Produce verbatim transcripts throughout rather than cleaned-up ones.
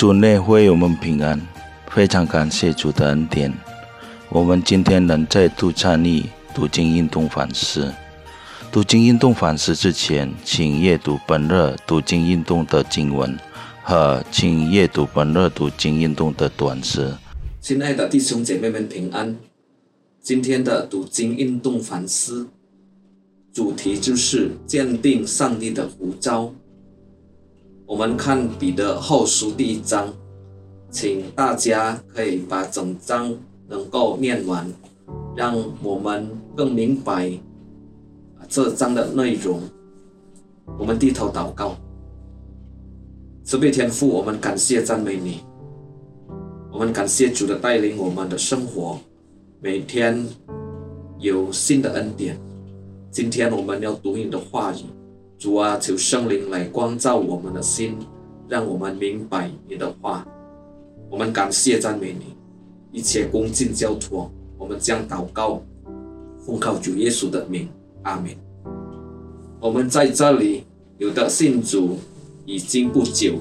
主内会我们平安，非常感谢主的恩典。我们今天能再度参与读经运动反思。读经运动反思之前，请阅读本日读经运动的经文和请阅读本日读经运动的短诗。 亲爱的弟兄姐妹们平安，今天的读经运动反思主题就是坚定上帝的呼召。我们看彼得后书第一章，请大家可以把整章能够念完，让我们更明白这章的内容。我们低头祷告。慈悲天父，我们感谢赞美你，我们感谢主的带领我们的生活，每天有新的恩典。今天我们要读你的话语，主啊，求圣灵来光照我们的心，让我们明白你的话。我们感谢赞美你，一切恭敬交托，我们将祷告奉靠主耶稣的名，阿们。我们在这里有的信主已经不久，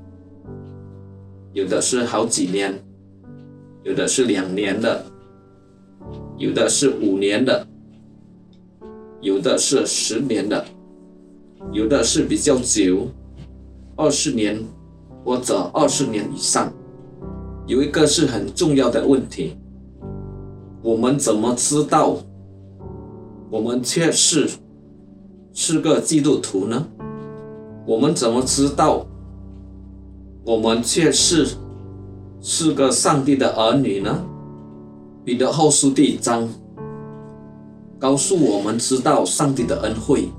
有的是好几年，有的是两年的，有的是五年的，有的是十年的，有的是比较久，二十年或者二十年以上。有一个是很重要的问题，我们怎么知道我们确实是个基督徒呢？我们怎么知道我们确实是个上帝的儿女呢？彼得后书第一章告诉我们知道上帝的恩惠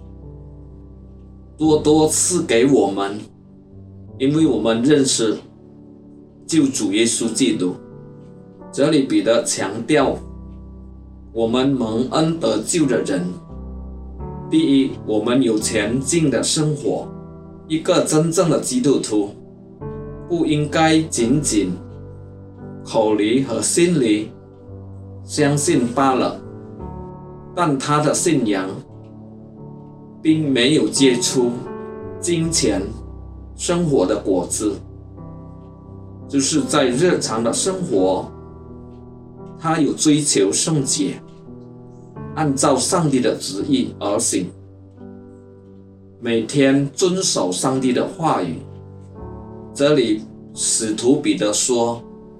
多多赐给我们，因为我们认识救主耶稣基督。这里彼得强调我们蒙恩得救的人，第一，我们有前进的生活。一个真正的基督徒不应该仅仅口里和心里相信罢了，但他的信仰并没有结出金钱生活的果子，就是在日常的生活他有追求圣洁，按照上帝的旨意而行，每天遵守上帝的话语。这里使徒彼得说，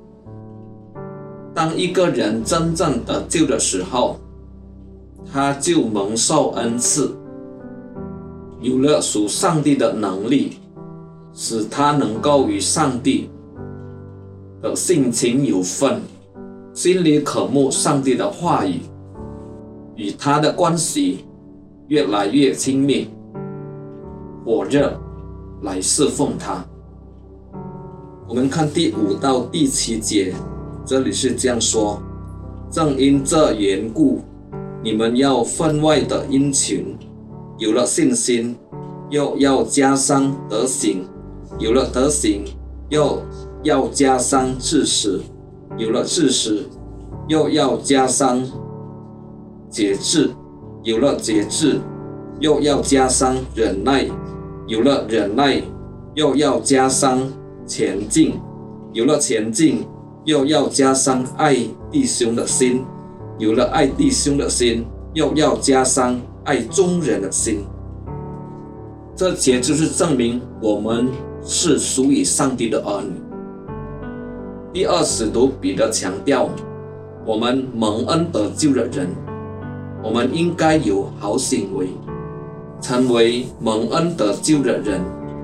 当一个人真正得救的时候，他就蒙受恩赐，有了属上帝的能力，使他能够与上帝的性情有分，心里渴慕上帝的话语，与他的关系越来越亲密，火热来侍奉他。我们看第五到第七节，这里是这样说：正因这缘故，你们要分外的殷勤，有了信心，又要加上德行；有了德行，又要加上知识；有了知识，又要加上节制；有了节制，又要加上忍耐；有了忍耐，又要加上前进；有了前进，又要加上爱弟兄的心；有了爱弟兄的心，又要加上爱众人的心。这些就是证明我们是属于上帝的儿女。第二，使徒彼得强调，我们蒙恩得救的人，我们应该有好行为。成为蒙恩得救的人，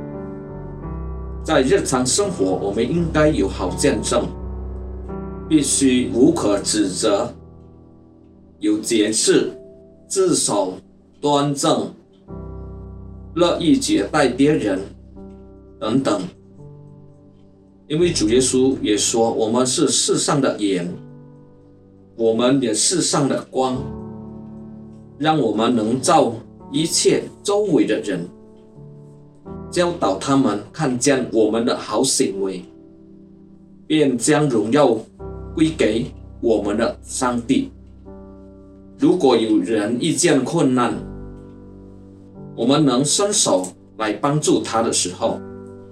在日常生活我们应该有好见证，必须无可指责，有节制，自守端正，乐意接待别人等等。因为主耶稣也说，我们是世上的盐，我们也是世上的光，让我们能照一切周围的人，教导他们看见我们的好行为，便将荣耀归给我们的上帝。如果有人遇见困难，我们能伸手来帮助他的时候，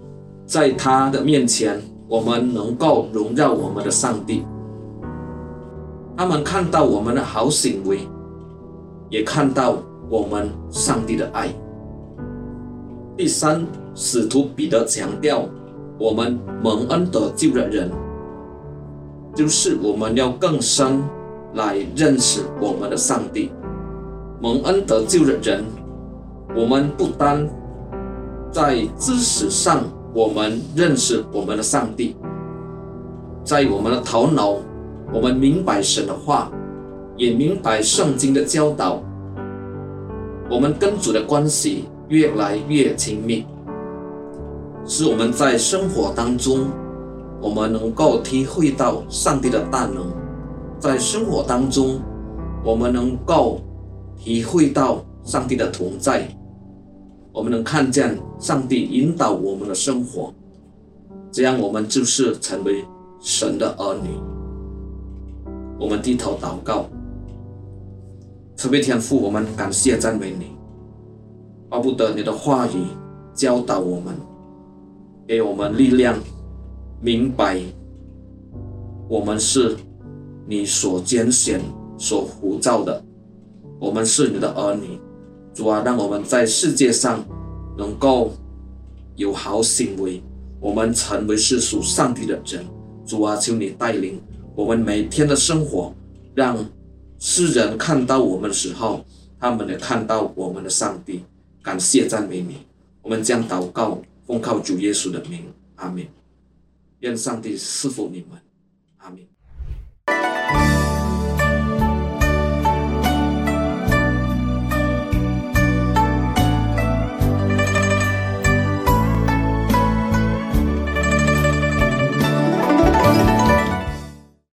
在他的面前，我们能够荣耀我们的上帝。他们看到我们的好行为，也看到我们上帝的爱。第三，使徒彼得强调，我们蒙恩得救的人，就是我们要更深来认识我们的上帝。蒙恩得救的人，我们不单在知识上我们认识我们的上帝，在我们的头脑我们明白神的话，也明白圣经的教导，我们跟主的关系越来越亲密，使我们在生活当中我们能够体会到上帝的大能，在生活当中我们能够体会到上帝的同在，我们能看见上帝引导我们的生活，这样我们就是成为神的儿女。我们低头祷告。慈悲天父，我们感谢赞美你，巴不得你的话语教导我们，给我们力量，明白我们是你所拣选所呼召的，我们是你的儿女。主啊，让我们在世界上能够有好行为，我们成为是属上帝的人。主啊，求你带领我们每天的生活，让世人看到我们的时候，他们也看到我们的上帝。感谢赞美你，我们将祷告奉靠主耶稣的名，阿们。愿上帝赐福你们，阿们。